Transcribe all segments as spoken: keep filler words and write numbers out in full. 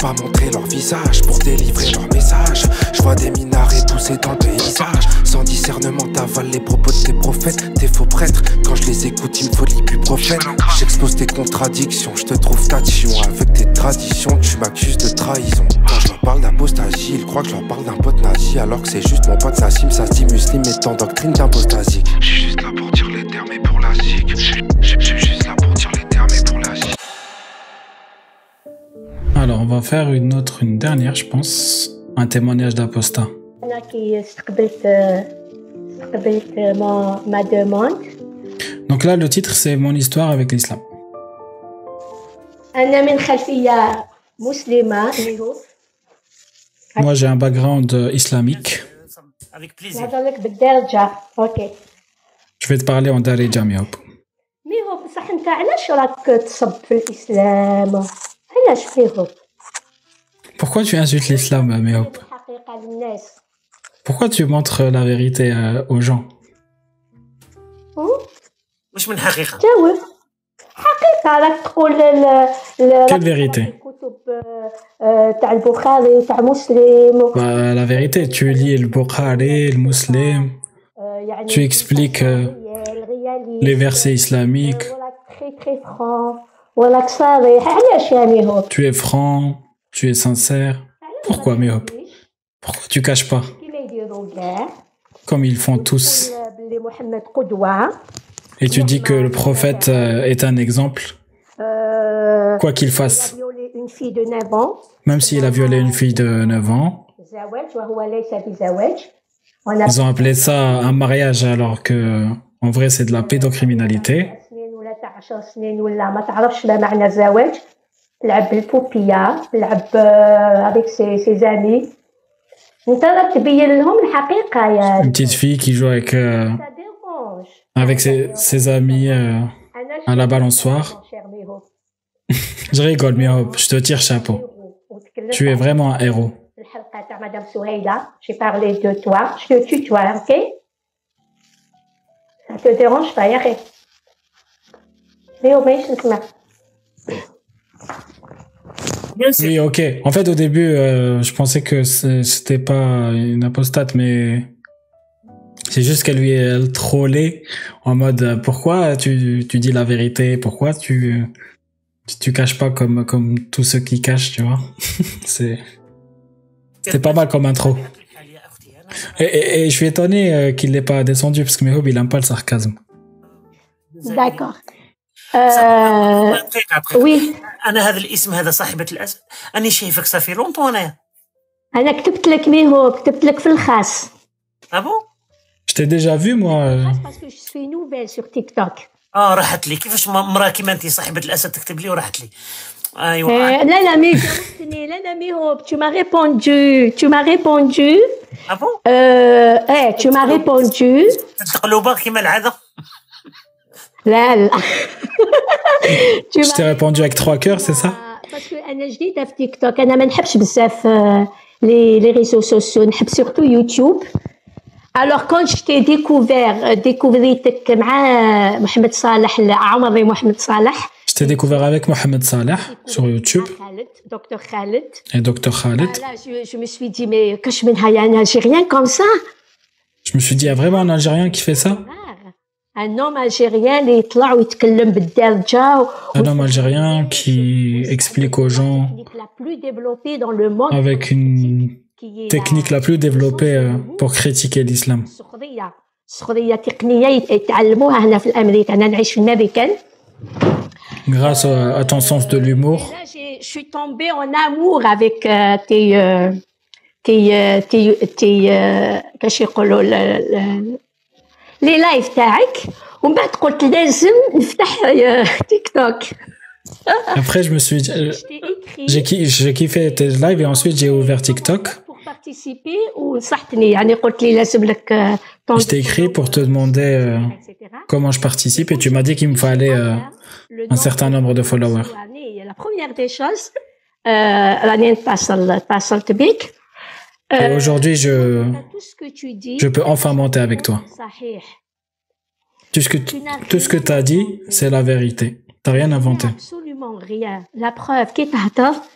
pas montrer leur visage pour délivrer leur message. Je vois des minarets pousser dans le paysage. Sans discernement t'avales les propos de tes prophètes. Tes faux prêtres, quand je les écoute il me faut l'ibuprofène. J'expose tes contradictions, je te trouve tatillon. Avec tes traditions, tu m'accuses de trahison. Quand je leur parle d'apostasie, ils croient que je leur parle d'un pote nazi. Alors que c'est juste mon pote Nassim, ça se dit muslim et en doctrine d'impostasie. Je suis juste là pour dire les termes et pour la zik. Je suis juste là pour dire les termes et pour la zik. Alors, on va faire une autre, une dernière, je pense. Un témoignage d'apostat. أنا كي استقبلت استقبلت ما ما demande. Donc là, le titre, c'est Mon histoire avec l'islam. أنا من خلفية مسلمة. Moi, j'ai un background islamique. Avec plaisir. نهضر لك بالدارجة. أوكي. Je vais te parler en darija, مي هوب. مي هو بصح أنت علاش راك تصب في الإسلام؟ علاش مي هو؟ Pourquoi tu insultes l'islam, مي هوب? الحقيقة للناس. Pourquoi tu montres la vérité euh, aux gens? مش من حقيقة. جاوب. حقيقة راك تقول ل Quelle vérité? الكتب تاع البخاري تاع مسلم. Bah, la vérité, tu lis le Bukhari, le Muslim, tu expliques euh, les versets islamiques, tu es franc, tu es sincère. Pourquoi, Mihop? Pourquoi tu caches pas? Comme ils font tous. Et tu dis que le prophète est un exemple, quoi qu'il fasse. Même s'il a violé une fille de neuf ans, ils ont appelé ça un mariage alors que, en vrai, c'est de la pédocriminalité. Une petite fille qui joue avec, euh, avec ses, ses amis euh, à la balançoire. Je rigole, mais je te tire chapeau. Tu es vraiment un héros. J'ai parlé de toi. Je te tutoie, ok? Ça te dérange pas, Yari? Mais au moins, je te Oui, ok. En fait, au début, euh, je pensais que c'était pas une apostate, mais c'est juste qu'elle lui elle trollait en mode pourquoi tu, tu dis la vérité, pourquoi tu tu caches pas comme comme tous ceux qui cachent, tu vois. c'est c'est pas mal comme intro. Et, et, et je suis étonné euh, qu'il l'ait pas descendu parce que Mehob il aime pas le sarcasme. D'accord. Euh, oui. أنا هذا الاسم هذا صاحبة الأسد أنا شايفك صافي لونطو أنايا. أنا كتبت لك ميهو كتبت لك في الخاص. Ah bon? Je t'ai déjà vu moi. Parce que je suis nouvelle sur TikTok. آه راحت لي كيفاش مرا كيما أنتي صاحبة الأسد تكتب لي وراحت لي. أيوة. لا لا مي جاوبتني لا لا ميهو tu m'as répondu tu m'as répondu. Ah bon? Euh, eh tu m'as répondu. تقلبها كيما العادة. لا لا. Je t'ai répondu avec trois cœurs, c'est ça? Parce que أنا جديدة في تيك توك أنا ما نحبش بزاف les les réseaux sociaux نحب surtout YouTube. Alors quand je t'ai découvert découvriتك مع محمد صالح عمري محمد صالح. Je t'ai découvert avec Mohamed Salah sur YouTube. Docteur Khaled. Et Docteur Khaled. Là, je, je me suis dit mais كاش منها يا un Algérien comme ça. Je me suis dit il y a vraiment un Algérien qui fait ça? Un homme algérien اللي يطلع ويتكلم بالدارجة. Un homme algérien qui explique aux gens avec une technique la plus développée pour critiquer l'islam. سخرية تقنية يتعلموها هنا في أمريكا أنا نعيش في الأمريكان. Grâce à ton sens de l'humour. Je suis tombée en amour avec tes tes tes tes كاش يقولوا les lives تاعك ومن بعد قلت لازم نفتح تيك توك. Après je me suis dit, j'ai j'ai kiffé tes lives et ensuite j'ai ouvert TikTok. Pour participer ونصحتني يعني قلت لي لازم لك. Je t'ai écrit pour te demander euh, comment je participe et tu m'as dit qu'il me fallait euh, un certain nombre de followers. La première des choses راني نتصل اتصلت بك. Et aujourd'hui, je, je peux enfin monter avec toi. Tout ce que, tout ce que tu as dit, c'est la vérité. Tu n'as rien inventé. Absolument rien. La preuve, qui t'attend,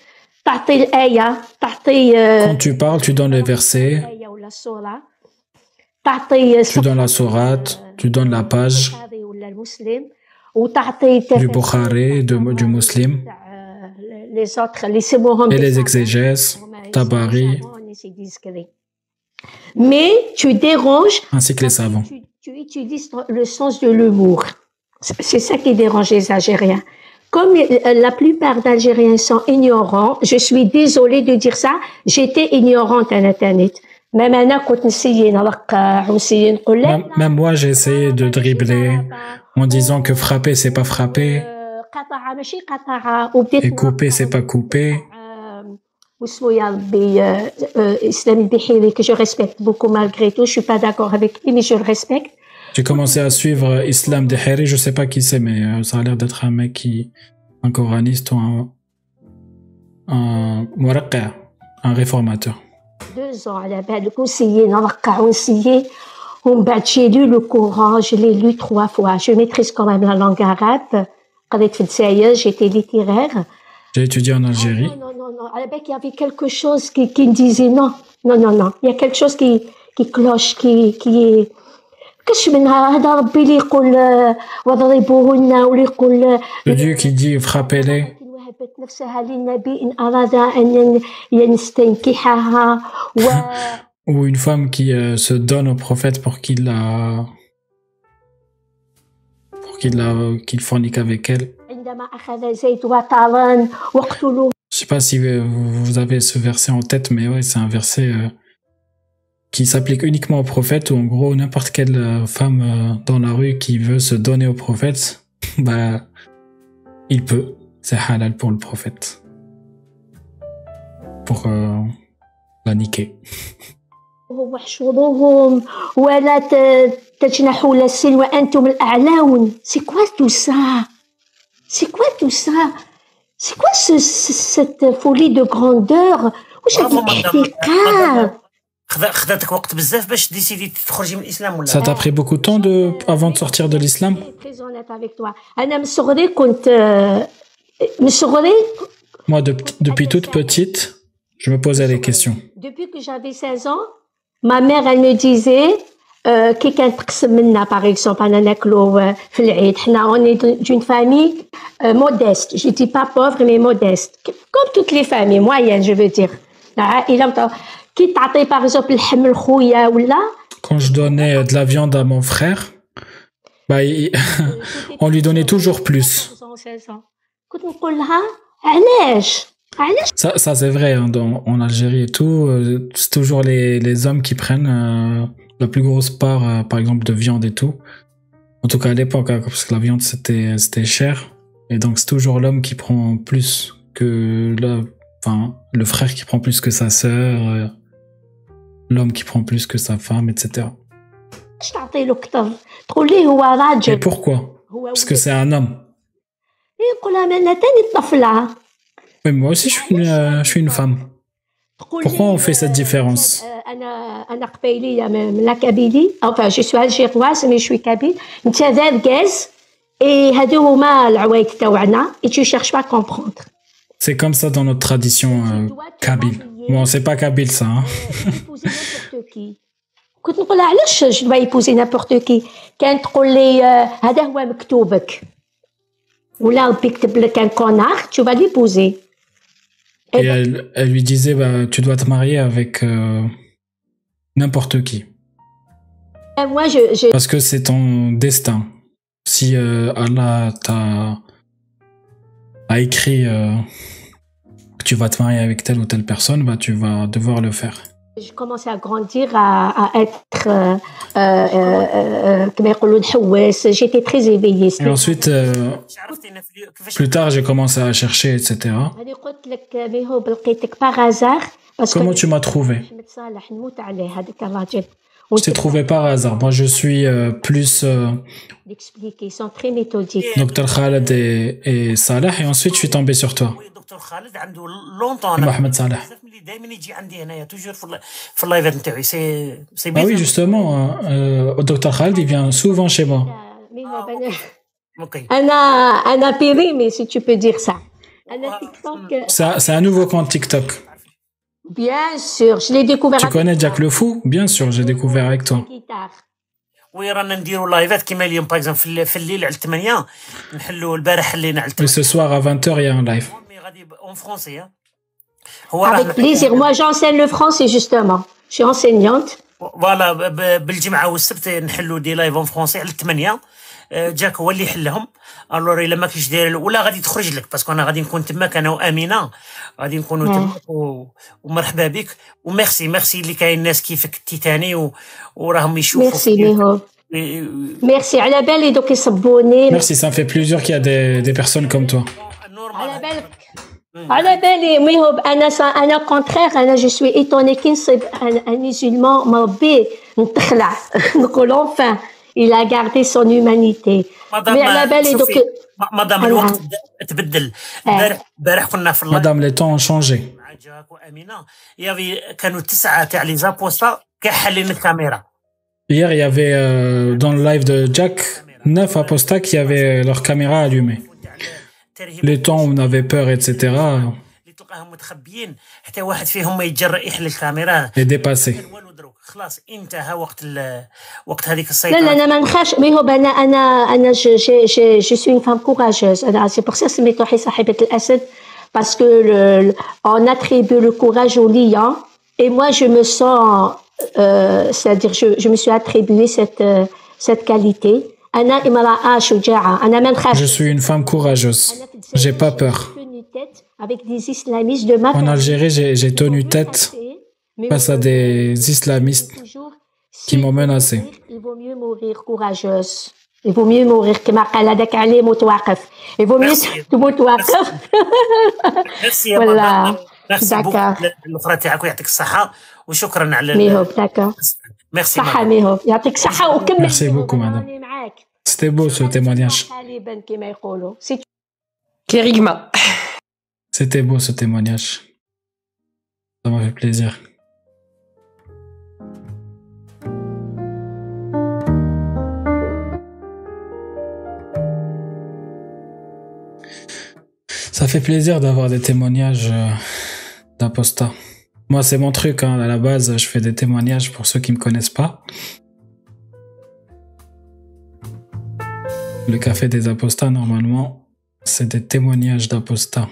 تعطي الآية تعطي Quand tu parles, tu donnes les versets, الآية ولا السورة تعطي tu donnes la sourate, tu donnes la page البخاري ولا المسلم وتعطي du Bukhari, de- du Muslim, les autres اللي يسموهم et des les savants. exégèses, هما يسموا Tabari, savants, c'est discret. Mais tu déranges ainsi que les savants. tu, tu utilises le sens de l'humour. C'est c'est ça qui dérange les Algériens. Comme euh, la plupart d'Algériens sont ignorants, je suis désolée de dire ça, j'étais ignorante à Internet. Même أنا كنت نسيي نرقع ونسيي نقول لا Même, même moi, j'ai essayé de dribbler en disant que frapper, c'est pas frapper, قطعة ماشي قطعة وبديت et couper, c'est pas couper. آه، واسمو يا ربي آه، آه، إسلام البحيري que je respecte beaucoup malgré tout, je suis pas d'accord avec lui mais je le respecte. J'ai commencé à suivre Islam Deheri, je sais pas qui c'est, mais euh, ça a l'air d'être un mec qui, un coraniste ou un, un muraqqa, un réformateur. Deux ans على بالك ونسيي نرقع ونسيي ومن بعد j'ai lu le Coran, je l'ai lu trois fois. Je maîtrise quand même la langue arabe. قريت في الجزائر, j'étais littéraire. J'ai étudié en Ah, Algérie. non, non, non, non. على بالك il y avait quelque chose qui, qui me disait non, non, non, non. Il y a quelque chose qui, qui cloche, qui, qui est... كش منها هذا ربي اللي يقول آه، واضربوهن واللي يقول آه، Le Dieu qui dit frappez-les, وهبت نفسها للنبي إن أراد أن يستنكحها و ou une femme qui euh, se donne au prophète pour qu'il la, pour qu'il la, qu'il fornique avec elle. عندما أخذ زيد وطارا واقتلوه. Je sais pas si euh, vous avez ce verset en tête, mais ouais, c'est un verset euh, qui s'applique uniquement au prophète, où en gros, n'importe quelle euh, femme euh, dans la rue qui veut se donner au prophète, bah, il peut. C'est halal pour le prophète. Pour euh, la niquer. واحشروهم ولا ت- تجنحوا للسن وأنتم الأعلون. C'est quoi tout ça? C'est quoi tout ça? C'est quoi ce, ce- cette folie de grandeur? واش هاد برافو مدام. الاحتقار؟ خذا- خذاتك وقت بزاف باش ديسيدي تخرجي من الاسلام ولا Ça t'a pris beaucoup de temps de, avant de sortir de l'islam? Très honnête avec toi. أنا من صغري كنت آه، من صغري Moi, de- depuis toute petite, je me posais des questions. Depuis que j'avais seize ans, ma mère, elle me disait euh, كي كانت تقسم منا par exemple أنا ناكلو آه، في العيد حنا on est d'une famille euh, modeste, je dis pas pauvre mais modeste comme toutes les familles moyennes je veux dire العائلة متاع- كي تعطي par exemple اللحم لخويا ولا Quand je donnais de la viande à mon frère, bah, il- on lui donnait toujours plus. seize ans كنت نقول لها علاش علاش Ça, ça c'est vrai, hein, dans- en Algérie et tout, euh, c'est toujours les, les hommes qui prennent euh, la plus grosse part, euh, par exemple, de viande et tout. En tout cas à l'époque, hein, parce que la viande c'était c'était cher, et donc c'est toujours l'homme qui prend plus que le, enfin le frère qui prend plus que sa sœur, euh, l'homme qui prend plus que sa femme, et cetera. تعطي له كثر تقول ليه هو Et راجل pourquoi? هو Parce que c'est un homme. يقول لها انا تاني طفله Mais moi aussi je suis une, euh, je suis une femme. Pourquoi on fait cette différence? أنا أنا قبيلية من لا كابيلي enfin je suis algéroise mais je suis kabyle أنت ذرقاز et هادو هما العوايد تاوعنا et tu cherches pas à comprendre. C'est comme ça dans notre tradition euh, kabyle. Bon, c'est pas kabyle ça, hein. épouser n'importe qui. كنت نقول لها علاش je dois épouser n'importe qui كانت تقول لي آه، هذا هو مكتوبك ولا ربي كتب لك un connard tu vas l'épouser. Et elle, elle lui disait, bah, tu dois te marier avec euh, n'importe qui. Et moi je, je Parce que c'est ton destin. Si euh, Allah t'a a écrit euh, que tu vas te marier avec telle ou telle personne, bah, tu vas devoir le faire. Je commençais à grandir, à, à être, euh, euh, euh, comment يقولوا نحوس. J'étais très éveillée. Et ensuite, euh, عرفتينا في اليو- كيفاش plus tard, j'ai commencé à chercher, et cetera. هذه قلت لك ميهوب لقيتك par hasard. Parce Comment que tu m'as trouvé? أحمد صالح نموت عليه هذاك الراجل. Je t'ai trouvé par hasard. Moi, je suis euh, plus euh, D'expliquer, ils sont très méthodiques. docteur Khaled et, et Salah, et ensuite, je suis tombé sur toi. خويا دكتور خالد عنده لونطون محمد صالح. بزاف ملي دائما يجي عندي هنايا توجور في الل- في اللايفات نتاعي سي سي Bah oui, justement, hein, euh, docteur Khaled, il vient souvent chez moi. ميهوب أنا اوكي أنا أنا périmée si tu peux dire ça. أنا TikTok. C'est c'est un nouveau compte TikTok. Bien sûr, je l'ai découvert. Tu connais Jack le Fou? Bien sûr, j'ai découvert avec toi. وي رانا نديروا لايفات كيما اليوم باغ اكزومبل في الليل, في الليل على ثمانية نحلوا البارح حلينا على Et ce soir à vingt heures, il y a un live. مي غادي اون فرونسي هو Avec plaisir. Moi, j'enseigne le français justement. Je suis enseignante. فوالا بالجمعه والسبت نحلوا دي لايف اون فرونسي على ثمانية. جاك هو اللي يحلهم. الور الا ما كاينش داير ولا غادي تخرج لك باسكو انا غادي نكون تماك انا وامينه غادي نكونوا تماك و... ومرحبا بك وميرسي ميرسي اللي كاين ناس كيفك تيتاني و... وراهم يشوفوا ميرسي ميهو ميرسي على بالي دوك يصبوني. Merci, ça me fait plaisir qu'il y a des, des personnes comme toi. على بالك على بالي ميهو انا انا كونترير انا جو سوي ايتوني كي نصيب ان ميسلمان مربي نتخلع نقول enfin il a gardé son humanité. مادام على بالي دوك مادام الوقت تبدل. البارح البارح كنا في اللايف Madame, les temps ont changé. مع جاك وامينه يافي كانوا تسعه تاع لي زابوستا كيحلين الكاميرا. Hier, il y avait euh, dans le live de Jack neuf apostats qui avaient leur caméra allumée. Les temps où on avait peur, et cetera, اللي تلقاهم متخبيين حتى واحد فيهم ما يتجرأ يحل الكاميرا. est dépassé. والو دروك خلاص انتهى وقت وقت هذيك لا السيطره. لا انا ما نخافش ميهو انا انا انا جو جو جو جو سوي une femme courageuse. انا سي بور سا سميتو حي صاحبة الاسد parce que le, on attribue le courage au lion et moi je me sens euh, c'est-à-dire je je me suis attribué cette euh, cette qualité. انا امرأة شجاعة انا ما نخافش. Je suis une femme courageuse. J'ai pas peur. avec des islamistes de ma En Algérie, j'ai j'ai tenu tête face à des islamistes qui m'ont menacé. Il vaut mieux mourir courageuse. Il vaut mieux mourir كما قال هذاك علي متوقف. Il vaut mieux تموت واقف. ميرسي يا مدام. ميرسي الاخرى تاعك ويعطيك الصحة وشكرا على ميهو داكا. ميرسي صحة ميهو يعطيك الصحة وكمل. Merci beaucoup, madame. C'était beau ce témoignage. كما يقولوا. كيريغما. C'était beau ce témoignage. Ça m'a fait plaisir. Ça fait plaisir d'avoir des témoignages euh, d'apostats. Moi, c'est mon truc, hein. À la base, je fais des témoignages pour ceux qui me connaissent pas. Le café des apostats, normalement, c'est des témoignages d'apostats.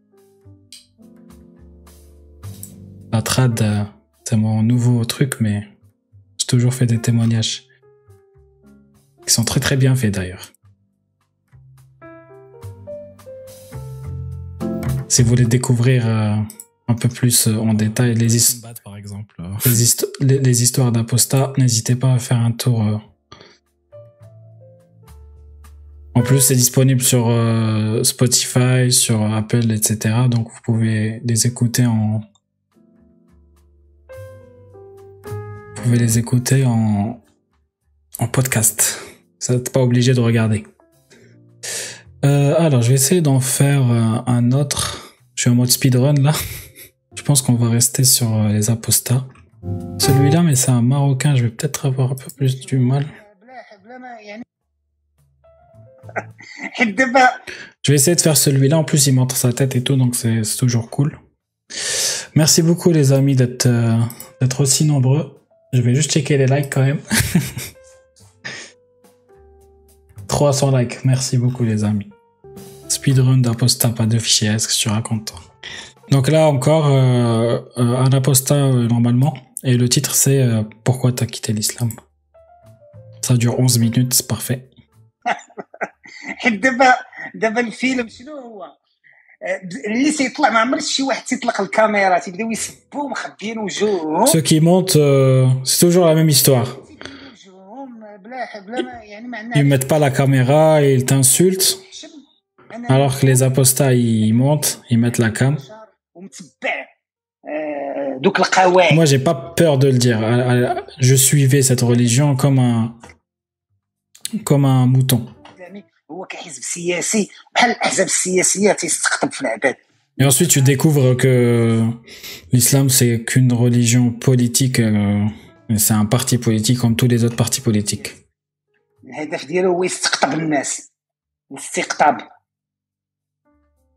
La trad, euh, c'est mon nouveau truc, mais j'ai toujours fait des témoignages. Qui sont très très bien faits d'ailleurs. Si vous voulez découvrir euh, un peu plus euh, en détail les, his- par exemple, euh, les, histo- les, les histoires d'apostats, n'hésitez pas à faire un tour. Euh. En plus, c'est disponible sur euh, Spotify, sur Apple, et cetera. Donc vous pouvez les écouter en... Vous pouvez les écouter en, en podcast. Vous n'êtes pas obligé de regarder. Euh, alors, je vais essayer d'en faire euh, un autre. Je suis en mode speedrun là. Je pense qu'on va rester sur euh, les apostats. Celui-là, mais c'est un Marocain. Je vais peut-être avoir un peu plus du mal. Je vais essayer de faire celui-là. En plus, il montre sa tête et tout, donc c'est c'est toujours cool. Merci beaucoup les amis d'être euh, d'être aussi nombreux. Je vais juste checker les likes quand même. trois cents likes. Merci beaucoup les amis. Speedrun d'apostat, pas de fichier. Est-ce que tu racontes toi? Donc là encore, euh, euh, un apostat euh, normalement. Et le titre c'est euh, Pourquoi t'as quitté l'islam. Ça dure onze minutes, c'est parfait. دابا دابا الفيلم شنو هو اللي سيطلع ما عمر شي واحد تيطلق الكاميرا تيبداو يسبوا مخبيين وجوههم. Ceux qui montent, euh, c'est toujours la même histoire. Ils mettent pas la caméra et ils t'insultent. Alors que les apostats ils montent, ils mettent la cam. Moi j'ai pas peur de le dire. Je suivais cette religion comme un comme un mouton. Et ensuite tu découvres que l'islam c'est qu'une religion politique, euh, c'est un parti politique comme tous les autres partis politiques.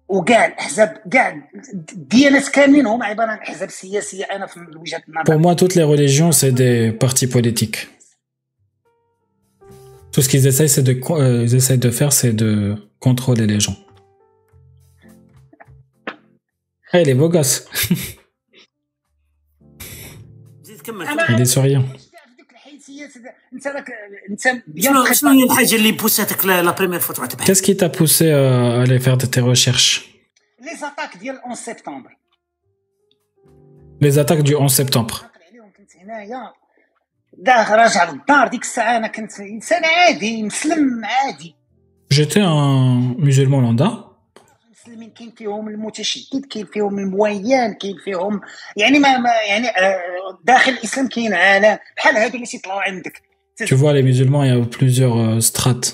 وكاع الاحزاب كاع الديانات كاملين هما عباره عن احزاب سياسيه. انا في وجهه النظر. Pour moi, toutes les religions, c'est des partis politiques. Tout ce qu'ils essayent, c'est de, euh, ils essayent de faire, c'est de contrôler les gens. Hey, les beaux gosses. زيد كمل. Il est souriant. ديك الحيثيات انت راك انت شنو شنو هي الحاجه اللي بوساتك لا لا بريمير فوا تبحث؟ Qu'est-ce qui t'a poussé à aller faire de tes recherches? لي زاتاك ديال أحد سبتمبر. Les attaques du onze septembre. عليهم كنت هنايا داخل راجع للدار ديك الساعه. انا كنت انسان عادي مسلم عادي. J'étais un musulman lambda. المسلمين كاين فيهم المتشدد، كاين فيهم المويان، كاين فيهم يعني ما, ما يعني آه داخل الاسلام كاين عالم بحال هادو اللي تيطلعوا عندك. Tu vois, les musulmans, il y a plusieurs euh, strates.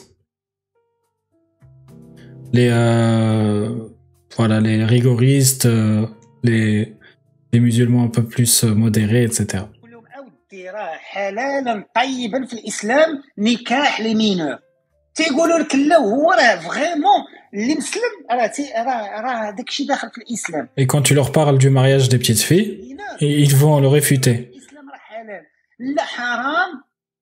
Les euh, voilà, les rigoristes, euh, les les musulmans un peu plus euh, modérés, et cetera. كلهم اودي راه حلالا طيبا في الاسلام نكاح لي مينور. تيقولوا لك لا هو راه فريمون اللي مسلم راه راه راه داكشي داخل في الاسلام. Et quand tu leur parles du mariage des petites filles, ils vont le réfuter. الاسلام راه حلال لا حرام.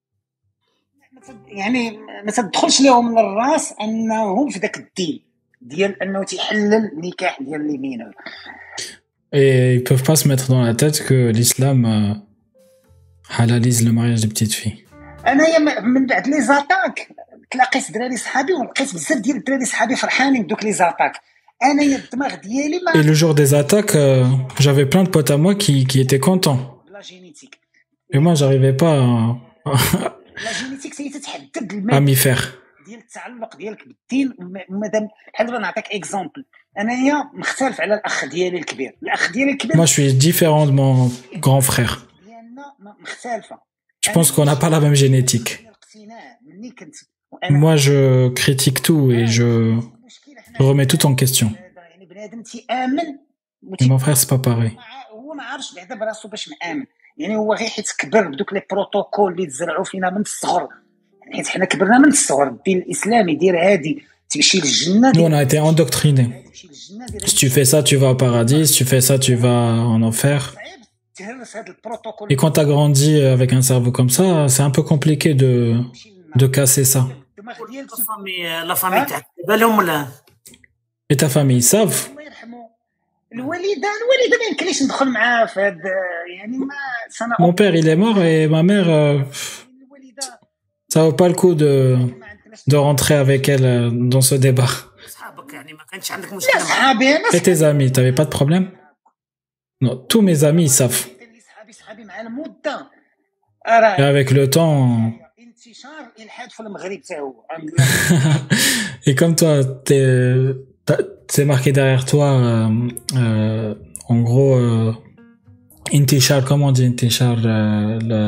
يعني ما تدخلش لهم للراس انهم في داك الدين ديال انه تيحلل النكاح ديال لي مينور. Et ils peuvent pas se mettre dans la tête que l'islam euh, halalise le mariage des petites filles. انايا من بعد لي زاتاك تلاقيت دراري صحابي ولقيت بزاف ديال الدراري صحابي فرحانين بدوك لي زاتاك. انايا الدماغ ديالي ما Et le jour des attaques, euh, j'avais plein de potes à moi qui, qui étaient contents. لا جينيتيك. Et moi, j'arrivais pas à, لا جينيتيك سي تتحدد à الماده m'y faire. ديال التعلق ديالك بالدين. ومادام بحال دابا نعطيك اكزومبل، انايا مختلف على الاخ ديالي الكبير. الاخ ديالي الكبير Moi, je suis différent de mon grand frère. ديالنا مختلفه. Je pense qu'on n'a pas la même génétique. الاقتناع مني كنت وانا Moi, je critique tout et je, je remets tout en question. يعني بنادم تيامن Et mon frère, c'est pas pareil. هو ما عارفش بعدا براسو باش مآمن. يعني هو غير حيت كبر بدوك لي بروتوكول اللي تزرعوا فينا من الصغر، حيت حنا كبرنا من الصغر. الدين الاسلامي دير هادي تمشي للجنه. Nous, on a été endoctrinés. Si tu fais ça, tu vas au paradis. Si tu fais ça, tu vas en enfer. تهرس هاد البروتوكول. Et quand t'as grandi avec un cerveau comme ça, c'est un peu compliqué de, de casser ça. الدماغ ديال لا فامي لا فامي تاعك بالهم ولا؟ Et ta famille, ils savent. الله يرحمه الوالده. الوالده ما يمكنليش ندخل معاه في هاد يعني ما سنه. Mon père, il est mort et ma mère, euh, الوالده ça vaut pas le coup de, de rentrer avec elle euh, dans ce débat. صحابك يعني ما كانش عندك لا مشكله معاهم؟ صحابي انا Et tes amis, t'avais pas de problème? Non, tous mes amis, ils savent. صحابي صحابي مع المده. Et راه avec le temps, انتشار الالحاد في المغرب حتى هو. et comme toi, t'es, t'as- c'est marqué derrière toi, euh, euh, en gros, euh, Intishar, comment on dit Intishar, euh, le...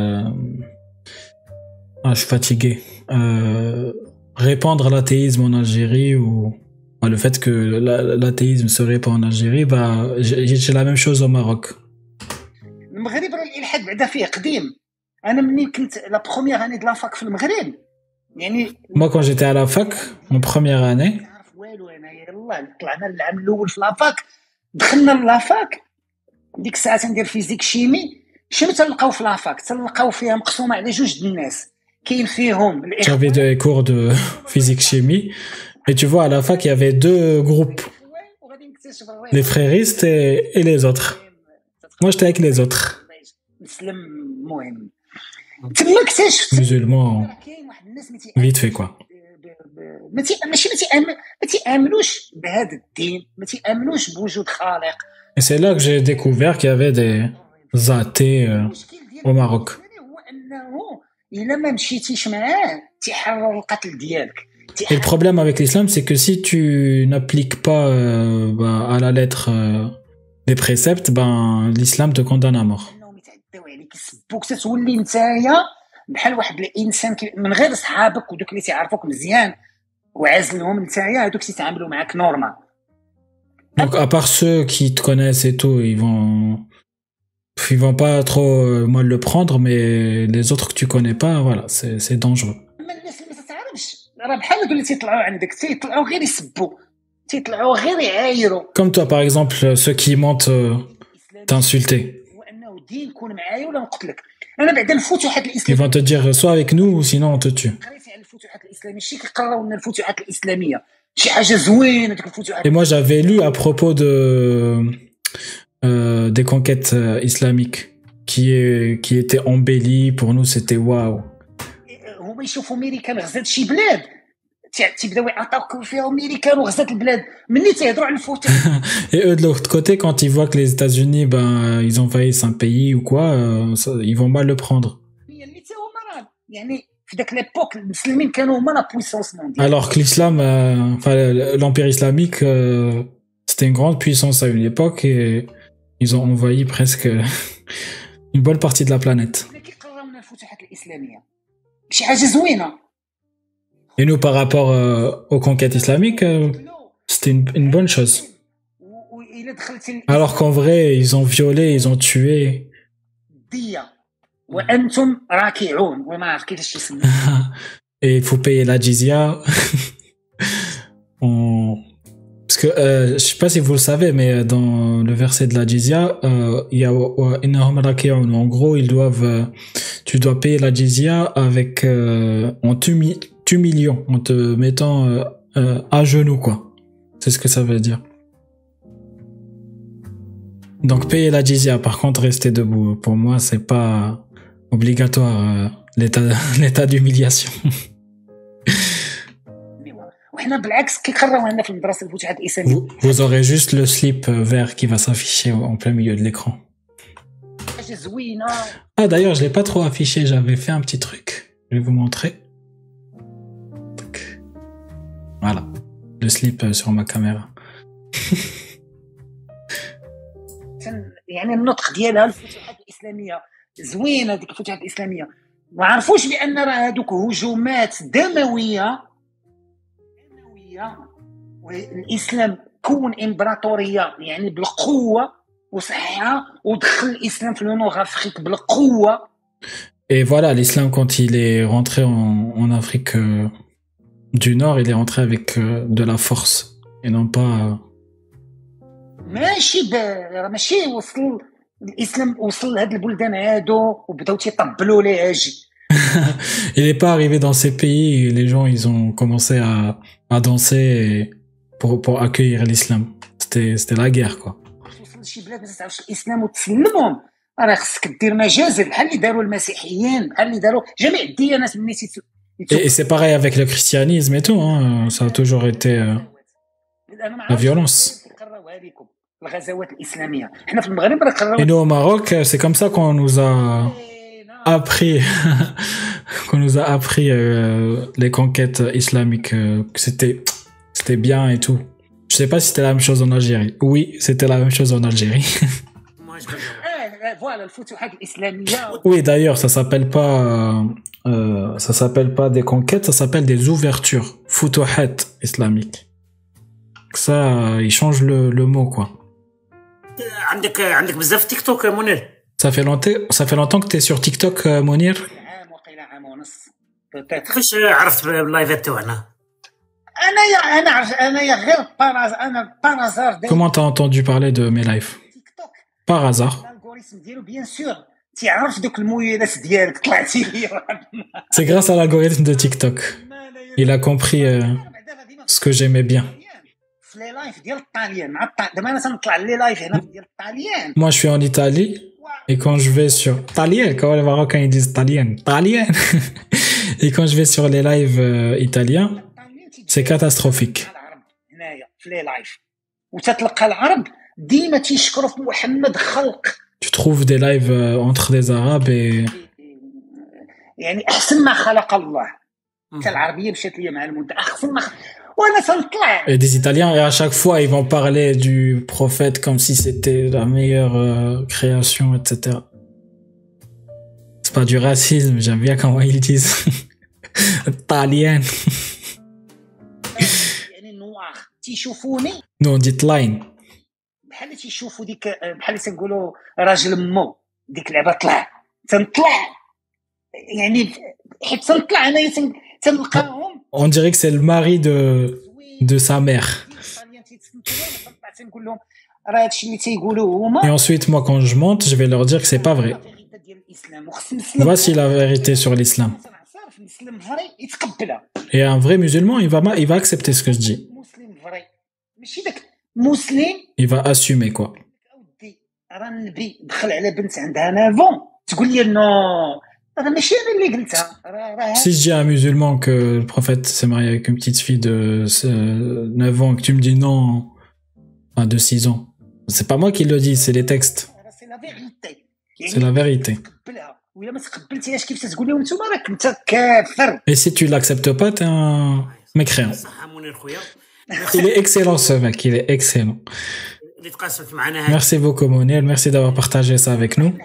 Ah, je suis fatigué. Euh, répandre l'athéisme en Algérie ou bah, le fait que la- l'athéisme se répand en Algérie, bah, j'ai j'ai la même chose au Maroc. المغرب راه الالحاد بعدا فيه قديم. انا مني كنت لا بروميير اني د لافاك في المغرب يعني Moi, quand j'étais à la fac, en première année, ما عارف والو. انا يلاه طلعنا العام الاول في لافاك، دخلنا لافاك ديك الساعه تندير فيزيك شيمي. شنو تلقاو في لافاك؟ تلقاو فيها مقسومه على جوج د الناس. كاين فيهم الاخوان j'avais des cours de physique-chimie, et tu vois, à la fac, il y avait deux groupes, وغادي نكتشف الريح. les fréristes et, et les autres. Moi, j'étais avec les autres, مسلم مهم. تما اكتشفت musulmans, كاين واحد الناس ما تي- vite fait quoi. ب- ب- ما تي- ماشي ما تيامن ما تيامنوش بهذا الدين، ما تيامنوش بوجود خالق. Et c'est là que j'ai découvert qu'il y avait des athées euh, المشكل ديال au Maroc. هو انه الا ما مشيتيش معاه تيحرر القتل ديالك. Et le problème avec l'islam, c'est que si tu n'appliques pas euh, bah, à la lettre euh, les préceptes, ben l'islam te condamne à mort. انهم يتعداو عليك يسبوك تتولي نتايا بحال واحد الانسان كي- من غير صحابك ودوك اللي تيعرفوك مزيان وعازلهم نتايا هذوك تيتعاملوا معاك نورمال. Donc à part ceux qui te connaissent et tout, ils vont ils vont pas trop euh, mal le prendre, mais les autres que tu connais pas, voilà, c'est c'est dangereux. اما الناس اللي ما تتعرفش راه بحال هادو اللي تيطلعوا عندك تيطلعوا غير يسبوا تيطلعوا غير يعايروا. Comme toi, par exemple, ceux qui mentent euh, t'insulter. وانه الدين كون معايا ولا نقتلك. انا بعد الفتوحات Ils الاسلاميه vont te dire soit avec nous ou sinon on te tue. قريت على الفتوحات الاسلاميه شي كيقراو لنا الفتوحات الاسلاميه شي حاجه زوينه ديك الفتوحات. Et moi, j'avais lu à propos de euh, des conquêtes euh, islamiques qui est, qui étaient embellies. Pour nous, c'était waouh. هما يشوفوا امريكان غزات شي بلاد تيبداو يعطاوك فيها امريكان وغزات البلاد مني تيهضروا على الفتوح. Et eux de l'autre côté, quand ils voient que les États-Unis, ben, ils envahissent un pays ou quoi, euh, ça, ils vont mal le prendre. اللي حتى هما راه يعني في داك ليبوك المسلمين كانوا هما لا بويسونس مونديال. Alors que l'islam, euh, enfin l'empire islamique, euh, c'était une grande puissance à une époque et ils ont envahi presque une bonne partie de la planète. كيقراو لنا الفتوحات الاسلاميه شي حاجه زوينه. Et nous, par rapport euh, aux conquêtes islamiques, euh, c'était une, une bonne chose. Alors qu'en vrai, ils ont violé, ils ont tué. Et il faut payer la jizya. On... Parce que, euh, je sais pas si vous le savez, mais dans le verset de la jizya, euh, il y a en gros, ils doivent, euh, tu dois payer la jizya avec, euh, en t'humiliant, en te mettant euh, euh, à genoux, quoi. C'est ce que ça veut dire. Donc payer la jizya, par contre rester debout, pour moi c'est pas obligatoire euh, l'état l'état d'humiliation. vous, vous aurez juste le slip vert qui va s'afficher en plein milieu de l'écran. Ah d'ailleurs je l'ai pas trop affiché, j'avais fait un petit truc, je vais vous montrer. Voilà, le slip sur ma caméra. يعني النطق ديالها الفتوحات الاسلاميه زوينه ديك الفتوحات الاسلاميه ما عرفوش بان راه هذوك هجومات دمويه دمويه والاسلام كون امبراطوريه يعني بالقوه وصحها ودخل الاسلام في لو افريك بالقوه. Et voilà, l'islam quand il est rentré en, en Afrique euh, du Nord, il est rentré avec euh, de la force et non pas euh, ماشي راه ماشي وصل الاسلام وصل لهاد البلدان هادو وبداو تيطبلوا ليه اجي. Il n'est pas arrivé dans ces pays et les gens ils ont commencé à à danser pour pour accueillir l'islam. C'était c'était la guerre quoi. وصل لشي بلاد ما تعرفش الاسلام وتسلمهم راه خصك دير مجازر بحال اللي داروا المسيحيين بحال اللي داروا جميع الديانات ملي تي. Et, et c'est pareil avec le christianisme et tout hein, ça a toujours été euh, la violence. Et nous au Maroc, c'est comme ça qu'on nous a appris, qu'on nous a appris euh, les conquêtes islamiques, euh, que c'était, c'était bien et tout. Je sais pas si c'était la même chose en Algérie. Oui, c'était la même chose en Algérie. Oui, d'ailleurs, ça s'appelle pas, euh, ça s'appelle pas des conquêtes, ça s'appelle des ouvertures, futuhat islamiques. Ça, il change le, le mot quoi. عندك عندك بزاف تيك توك منير. Ça fait longtemps, ça fait longtemps que t'es sur TikTok, euh, Mounir. عام وقيله عام ونص. كيفاش عرفت باللايفات تاعنا؟ انا يا انا عرفت انا يا غير باراز انا بارازار. Comment t'as entendu parler de mes lives? Par hasard. الالغوريثم ديالو بيان سور تيعرف دوك المويلات ديالك طلعتي لي. C'est grâce à l'algorithme de TikTok. Il a compris euh, ce que j'aimais bien. Moi, je suis en Italie et quand je vais sur Talien, quand les Marocains ils disent Talien, Talien, et quand je vais sur les lives euh, italiens, c'est catastrophique. Tu trouves des lives euh, entre des Arabes et et des Italiens, et à chaque fois ils vont parler du prophète comme si c'était la meilleure euh, création, et cetera. C'est pas du racisme, j'aime bien comment ils disent. Italien. Nous on dit line. بحال تيشوفوا ديك بحال تنقولوا راجل مو ديك اللعبه طلع تنطلع يعني حيت تنطلع انايا تنلقاهم. On dirait que c'est le mari de, de sa mère. نقول لهم راه هادشي اللي تيقولوا هما. Et ensuite, moi, quand je monte, je vais leur dire que c'est pas vrai. Voici la vérité sur l'islam. Et un vrai musulman, il va, il va accepter ce que je dis. Il va assumer, quoi. Si je dis à un musulman que le prophète s'est marié avec une petite fille de neuf ans, que tu me dis non, enfin de six ans, c'est pas moi qui le dis, c'est les textes. C'est la vérité. Et si tu l'acceptes pas, t'es un mécréant. Il est excellent ce mec, il est excellent. Merci beaucoup Mounir, merci d'avoir partagé ça avec nous.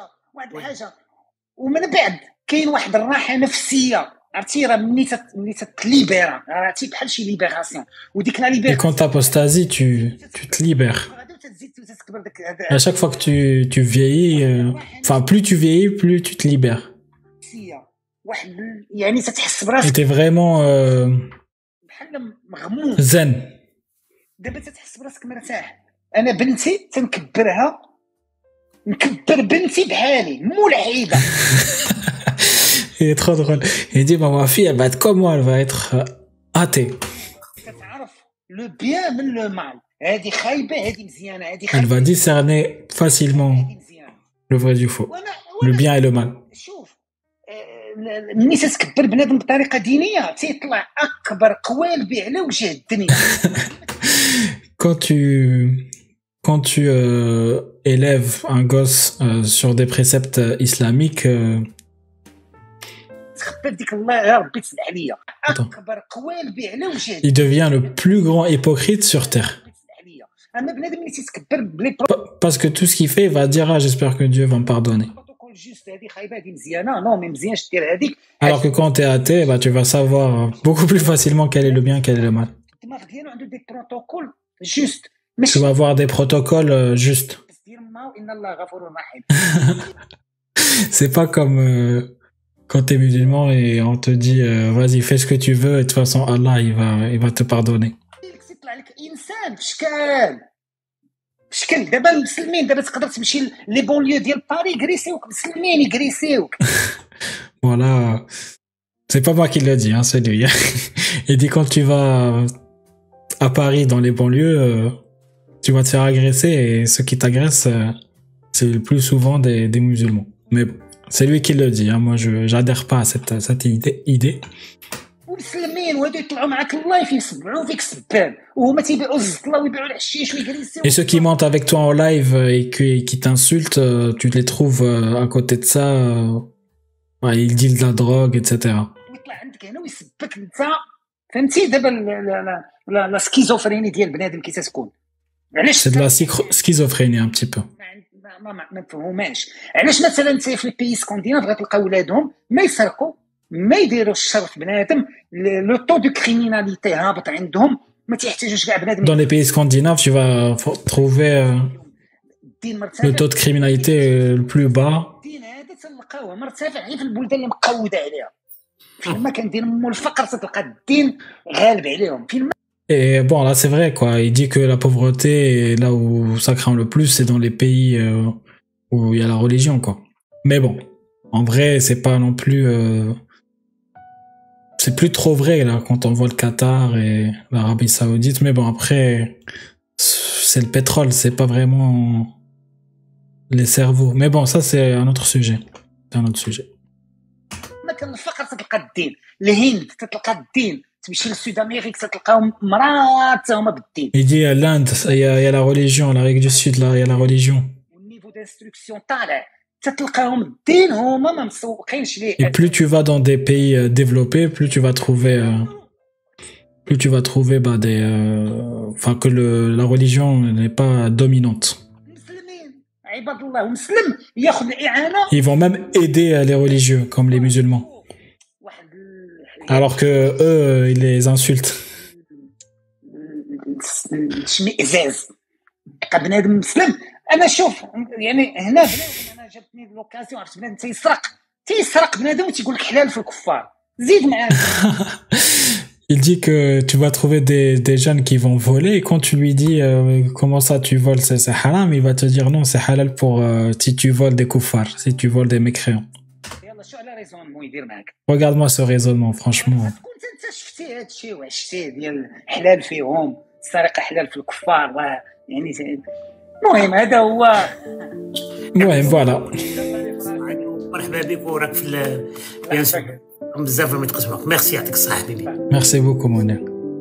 ومن بعد كاين واحد الراحه نفسيه عرفتي راه ملي ملي تليبيرا عرفتي بحال شي ليبراسيون وديك لا ليبراسيون. Et quand t'apostasies, tu tu te libères. À chaque fois que tu tu vieillis, euh, enfin plus tu vieillis, plus tu te libères. واحد يعني تتحس براسك. Et t'es vraiment euh, بحال مغموم. zen. دابا تتحس براسك مرتاح. انا بنتي تنكبرها نكبر بنتي بحالي مو العيبه. Il est trop drôle. Il dit bah, ma fille elle va être comme moi, elle va être athée. كتعرف لو بيان من لو مال. هذه خايبه هذه مزيانه هذه Elle va discerner facilement le vrai du faux, le bien et le mal. شوف ملي تتكبر بنادم بطريقه دينيه تيطلع اكبر قوال به على وجه الدنيا. Quand tu quand tu euh, élèves un gosse euh, sur des préceptes euh, islamiques, euh... il devient le plus grand hypocrite sur terre. Parce que tout ce qu'il fait, il va dire ah j'espère que Dieu va me pardonner. Alors que quand tu es athée, bah, tu vas savoir beaucoup plus facilement quel est le bien, quel est le mal. Tu vas avoir des protocoles euh, justes. C'est pas comme euh, quand t'es musulman et on te dit euh, vas-y fais ce que tu veux et de toute façon Allah il va il va te pardonner. شكل دابا المسلمين دابا تقدر تمشي لي بونليو ديال باري يغريسيوك مسلمين يغريسيوك. Voilà, c'est pas moi qui le dis, hein, c'est lui. Il dit quand tu vas à Paris dans les banlieues, euh, tu vas te faire agresser et ceux qui t'agressent, euh, c'est le plus souvent des, des musulmans. Mais bon, c'est lui qui le dit, hein, moi je j'adhère pas à cette, cette idée. idée. Et ceux qui mentent avec toi en live et qui, qui t'insultent, tu les trouves à côté de ça, ouais, ils dealent de la drogue, et cetera. C'est de la schizophrénie un petit peu. ما مفهوماش علاش مثلا في البيس سكونديناف غتلقاو ولادهم ما يسرقوا ما يديروش الشر في بنادم لو طو دو كريميناليتي هابط عندهم ما تيحتاجوش كاع بنادم. Dans les pays scandinaves, tu vas trouver euh, le taux de criminalité le plus bas. الدين هذا تلقاوه مرتفع غير في البلدان اللي مقوده عليها. فيما كان دير مو الفقر تلقى الدين غالب عليهم. فيما Et bon, là, c'est vrai, quoi. Il dit que la pauvreté, là où ça craint le plus, c'est dans les pays euh, où il y a la religion, quoi. Mais bon, en vrai, c'est pas non plus... Euh... C'est plus trop vrai, là, quand on voit le Qatar et l'Arabie Saoudite. Mais bon, après, c'est le pétrole, c'est pas vraiment les cerveaux. Mais bon, ça, c'est un autre sujet. C'est un autre sujet. الفقر تلقى الدين الهند تلقى الدين تمشي للسود امريك تلقاهم مرات هما بالدين. Il dit à l'Inde, il y a, il y a la religion, l'Amérique du Sud, là, il y a la religion. والنيفو d'instruction طالع تلقاهم الدين هما ما مسوقينش ليه. Et plus tu vas dans des pays euh, développés, plus tu vas trouver euh, plus tu vas trouver bah des euh, enfin que le la religion n'est pas dominante. Ils vont même aider les religieux comme les musulmans. Alors que eux, ils les insultent. بنادم مسلم انا شوف يعني هنا بنادم انا جاتني لوكازيون عرفت بنادم تيسرق تيسرق بنادم وتيقول لك حلال في الكفار زيد معاه. Il dit que tu vas trouver des, des jeunes qui vont voler et quand tu lui dis euh, comment ça tu voles, c'est, c'est haram, il va te dire non, c'est halal pour euh, si tu voles des koufars, si tu voles des mécréants. Regarde-moi ce raisonnement, franchement. كنت انت شفتي هذا الشيء وعشتيه ديال حلال فيهم السرقه حلال في الكفار و يعني المهم هذا هو. المهم فوالا. مرحبا بك وراك في بيان سور بزاف ما تقسموك. ميرسي يعطيك الصحه حبيبي. Merci beaucoup Monia.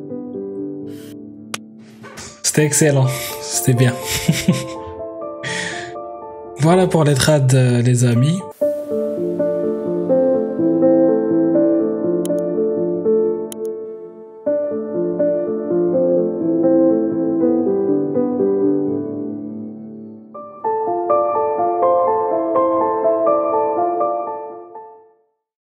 C'était excellent, c'était bien. Voilà pour les trades, les amis.